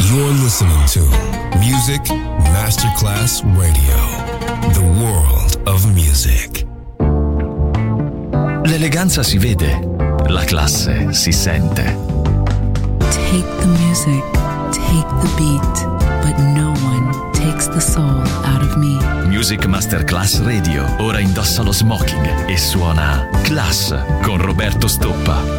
You're listening to Music Masterclass Radio, the world of music. L'eleganza si vede, la classe si sente. Take the music, take the beat, but no one takes the soul out of me. Music Masterclass Radio, ora indossa lo smoking e suona Class con Roberto Stoppa.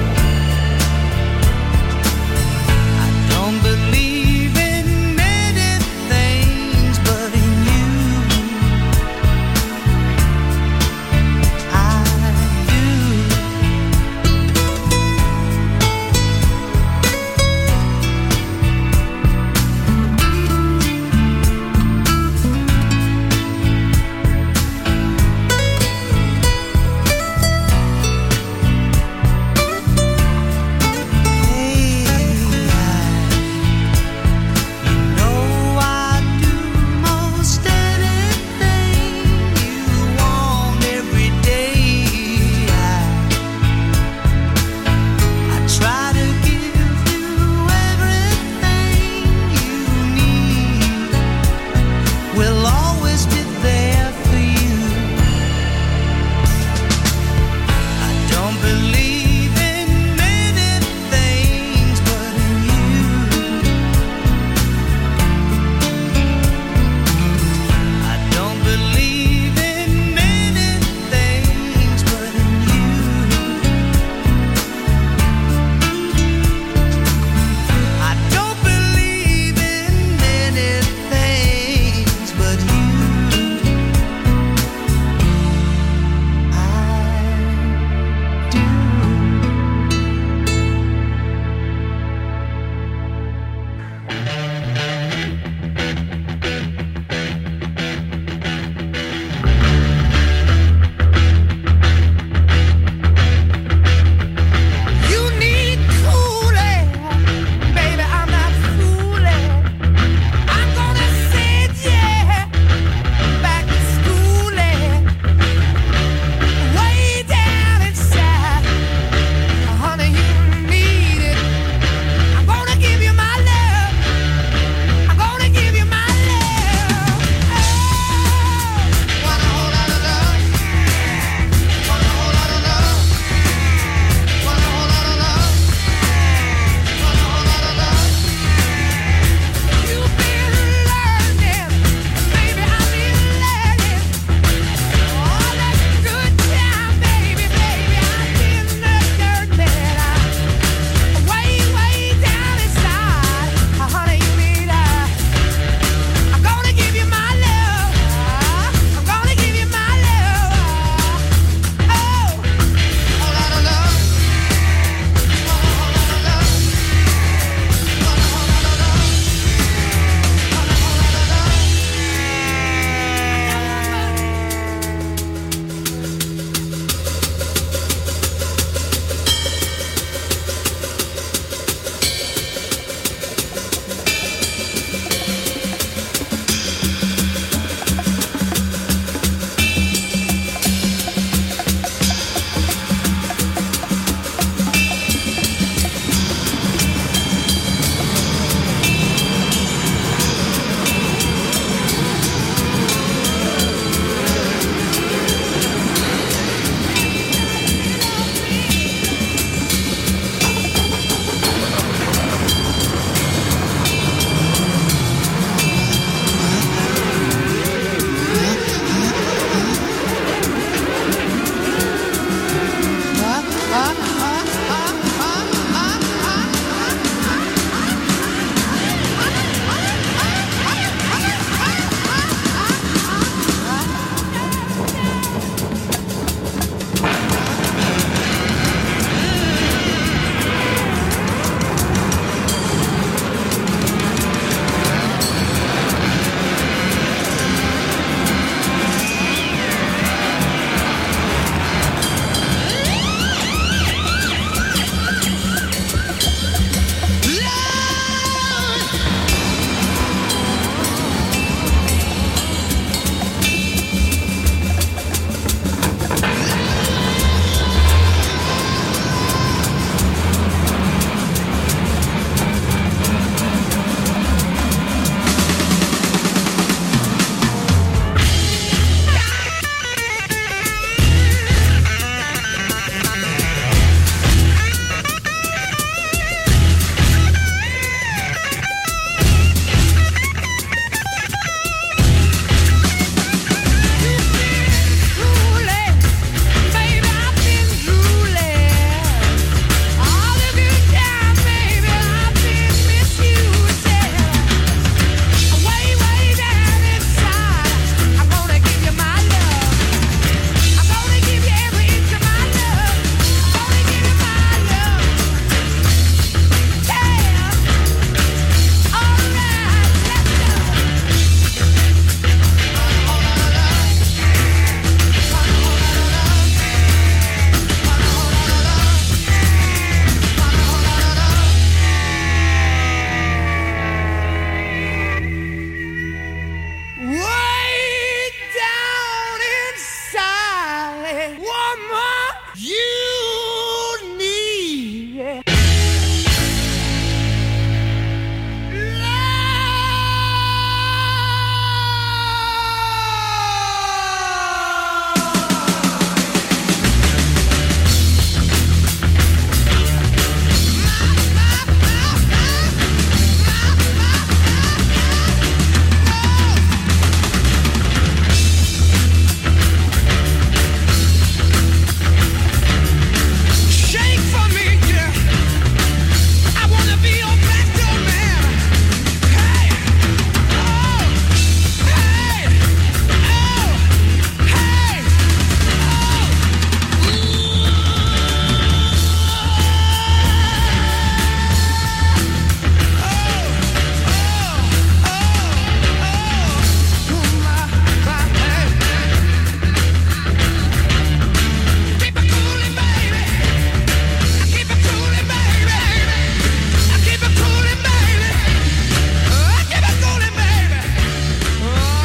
Believe in many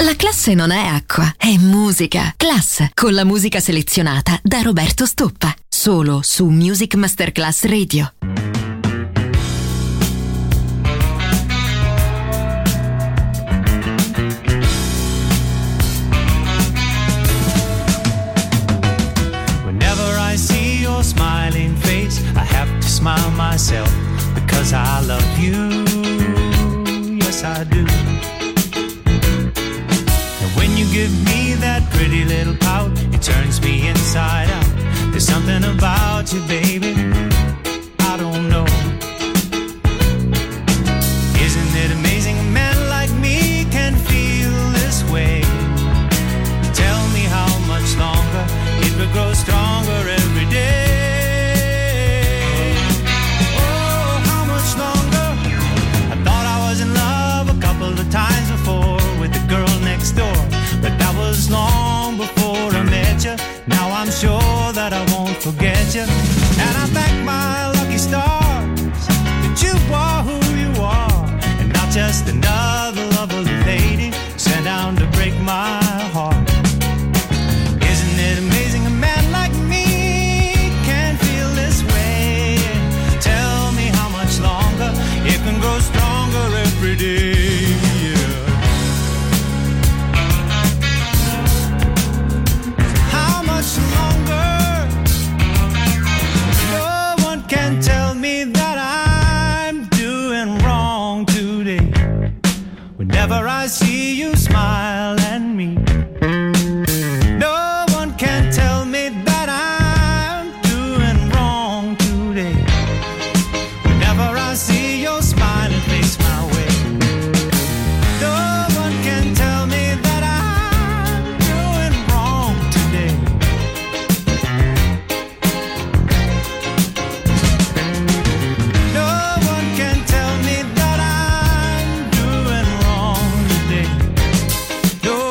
La classe non è acqua, è musica. Class, con la musica selezionata da Roberto Stoppa. Solo su Music Masterclass Radio. Whenever I see your smiling face, I have to smile myself because I love you. Yes, I do. When you give me that pretty little pout, it turns me inside out. There's something about you, baby, I don't know. Isn't it amazing a man like me can feel this way? Tell me how much longer it will grow stronger every day. Oh, how much longer? I thought I was in love a couple of times before with the girl next door, but that was long before I met you. Now I'm sure that I won't forget you, and I thank my lucky stars that you are who you are, and not just another lovely lady sent down to break my heart. Isn't it amazing a man like me can feel this way? Tell me how much longer it can grow stronger every day. Tell me that I'm doing wrong today. Whenever I see you smile at me, no one can tell me that I'm doing wrong today. Whenever I see your smiling face my way, no one can tell me that I'm doing wrong today. No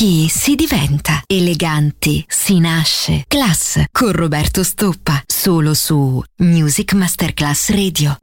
chi si diventa. Eleganti si nasce. Class con Roberto Stoppa, solo su Music Masterclass Radio.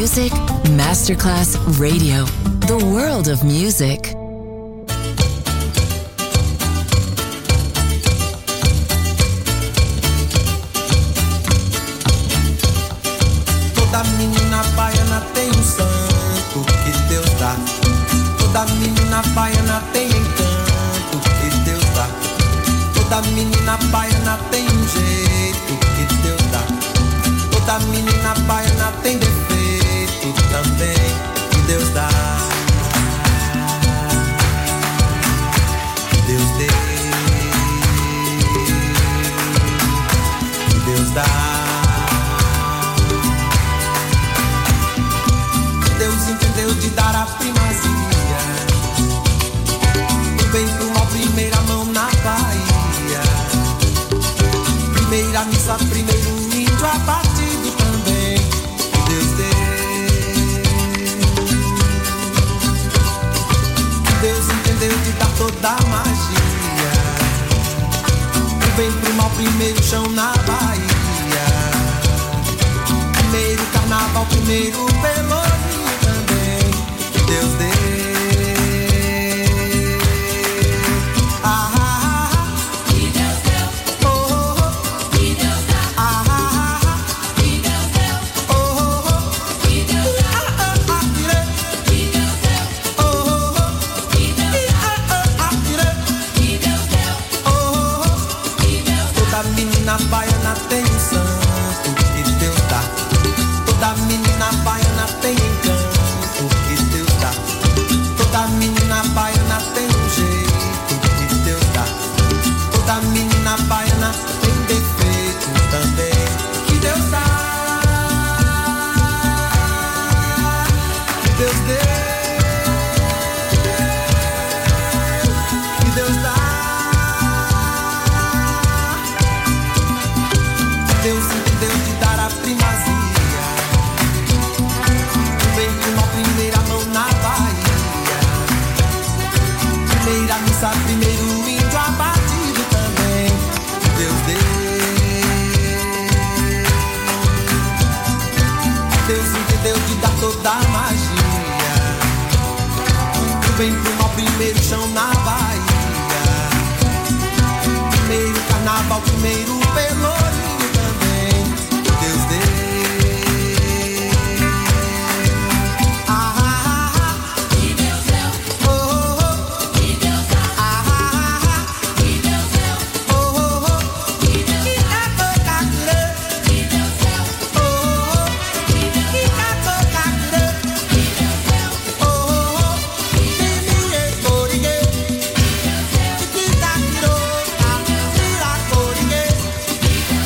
Music Masterclass Radio. The world of music. Toda menina baiana tem um santo que Deus dá. Toda menina baiana tem encanto que Deus dá. Toda menina baiana tem um jeito que Deus dá. Toda menina baiana tem defeito também que Deus dá. Que Deus dê. Que Deus dá. Deus entendeu de dar a primazia. Do bem pro mal, primeira mão na Bahia. Primeira missa, primeiro índio abatido também. Que Deus dê. Deus entendeu de dar toda a magia. Do bem pro mal, primeiro chão na Bahia. Primeiro carnaval, primeiro pelourinho também. Que Deus dê. Menina baiana tem um santo que Deus dá. Toda menina baiana tem encanto que Deus dá. Toda menina baiana tem um jeito que Deus dá. Toda menina baiana tem defeito também que Deus dá. Que Deus dê. Que Deus dá. Deus entendeu de dar a primazia. Bem com uma primeira mão na Bahia. Primeira missa, primeiro índio abatido também. Deus dê. Deus entendeu de dar toda a magia. Bem com uma primeiro chão na Bahia. Primeiro carnaval, primeiro pelourinho. Deus dê. Que Deus deu. Oh, oh, oh. Que Deus dá. Que Deus deu. Oh, oh, oh. Que Deus dá. Que Deus deu. Oh, oh, oh. Que Deus dá. Que Deus deu. Oh, oh, oh. Que Deus deu. Que Deus deu.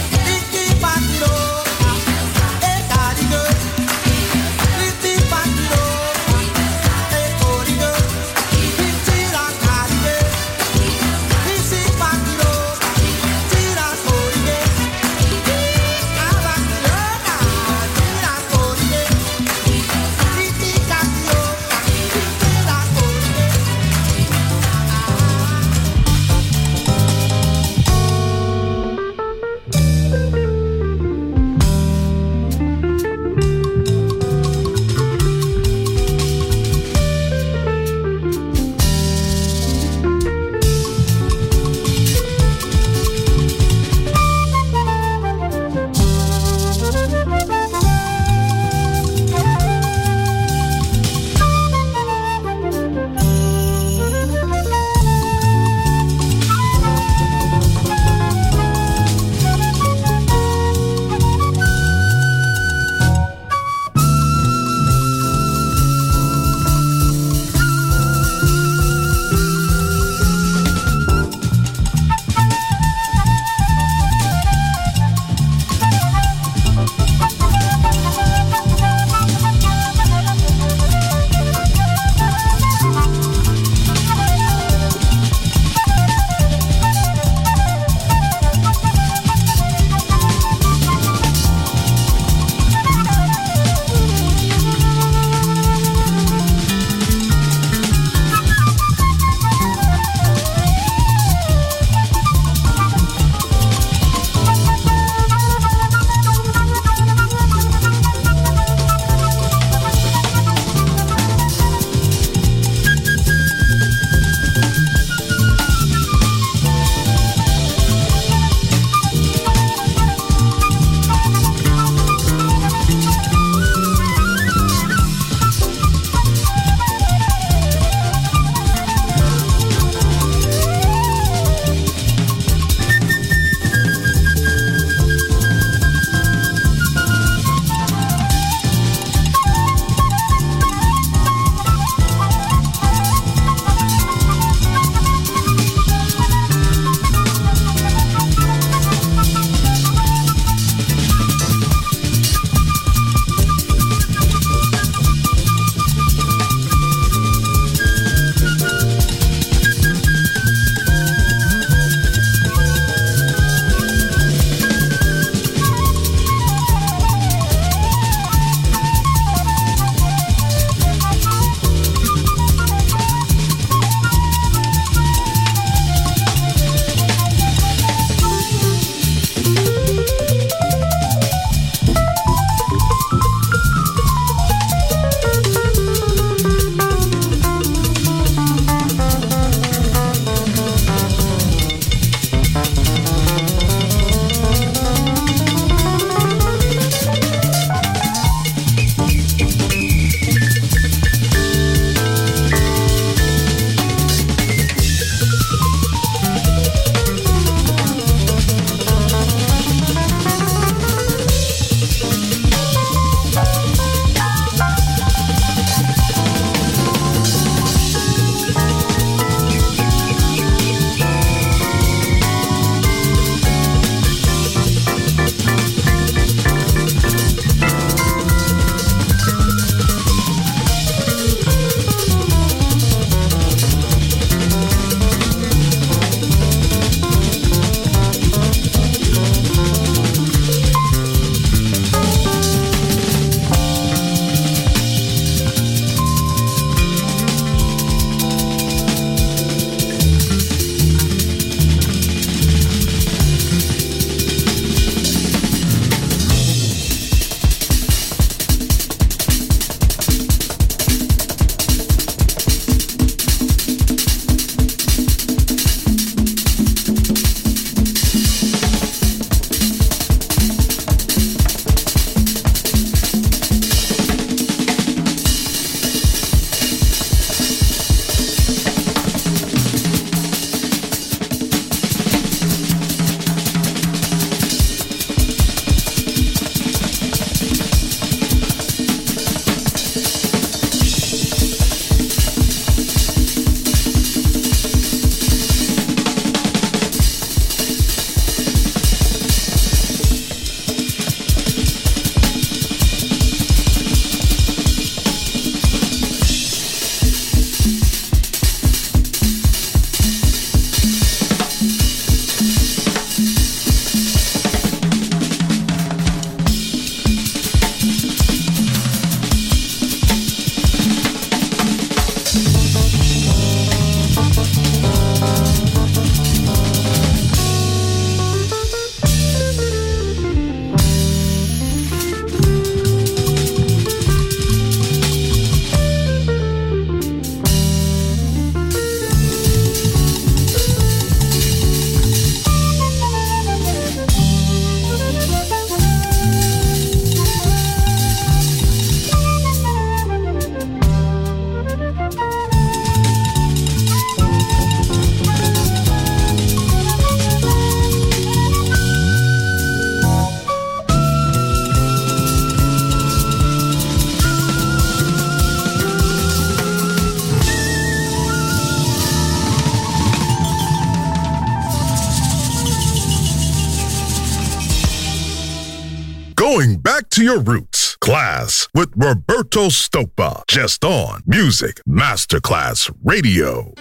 Going back to your roots. Class with Roberto Stoppa. Just on Music Masterclass Radio.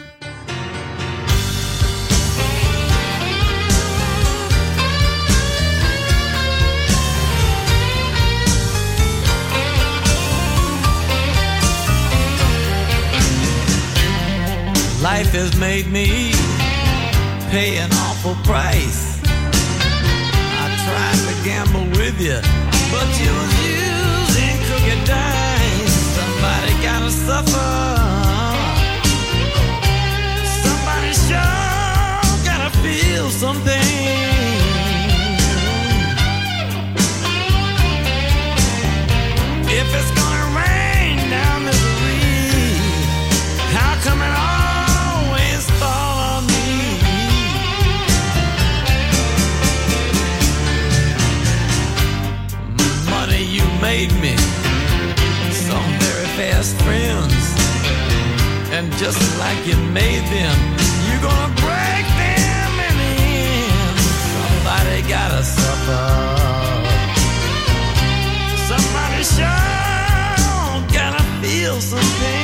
Life has made me pay an awful price. I tried to gamble with you, but you was using crooked dice. Somebody gotta suffer. Somebody sure gotta feel something. If it's gonna rain down misery, how come it always fall on me? Money, you made me some very fast friends, and just like you made them, you're gonna break them in the end. Somebody gotta suffer. Somebody sure gotta feel something.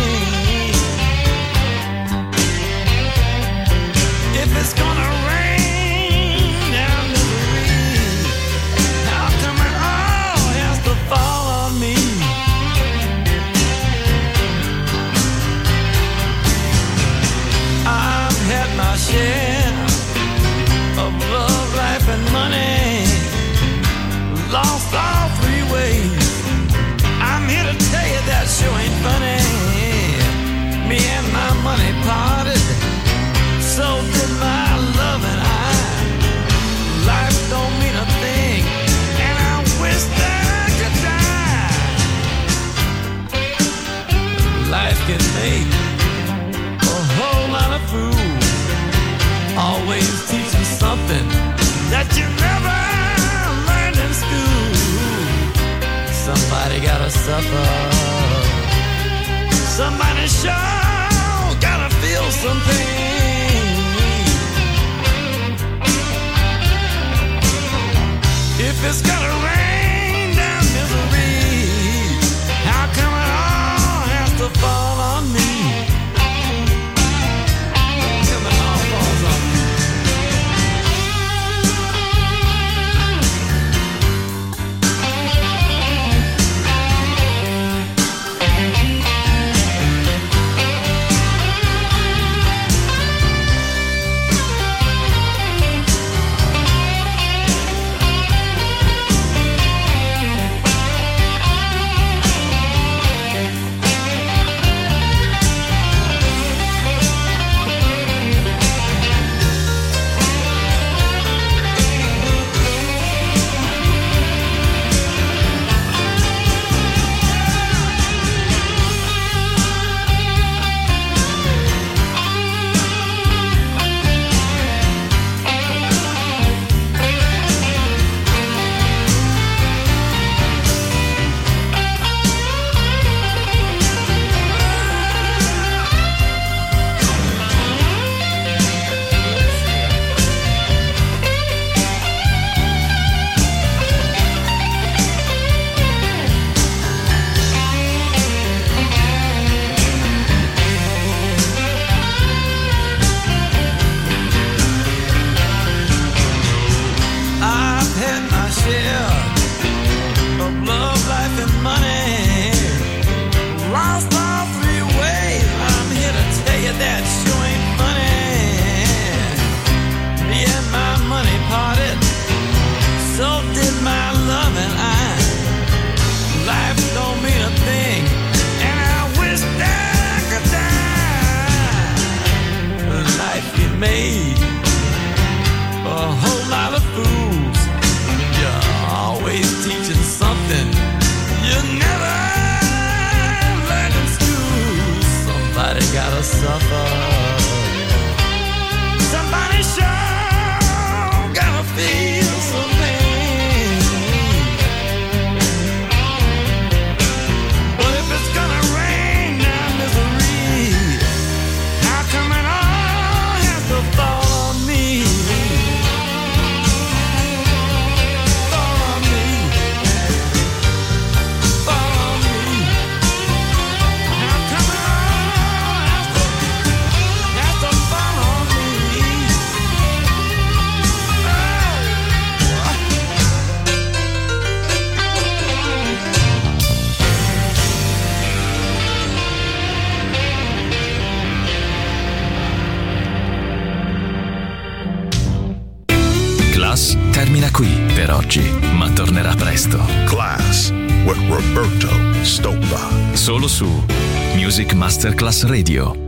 If it's gonna rain down misery, how come it all has to fall on me? I've had my share of love, life, and money, lost all three ways. I'm here to tell you that sure ain't funny. Me and my money parted, so did my love and I. Life don't mean a thing, and I wish that I could die. Life can make a whole lot of fools. Always teach you something that you never learned in school. Somebody gotta suffer. Somebody sure gotta feel something. If it's gonna rain down misery, how come it all has to fall on me? How come it all falls on me? Made a whole lot of fools. You're always teaching something you never learned in school. Somebody gotta suffer. Somebody sure gotta feel something. But if it's gonna rain down misery, how come it all has to fall? Class termina qui per oggi, ma tornerà presto. Class with Roberto Stoppa. Solo su Music Masterclass Radio.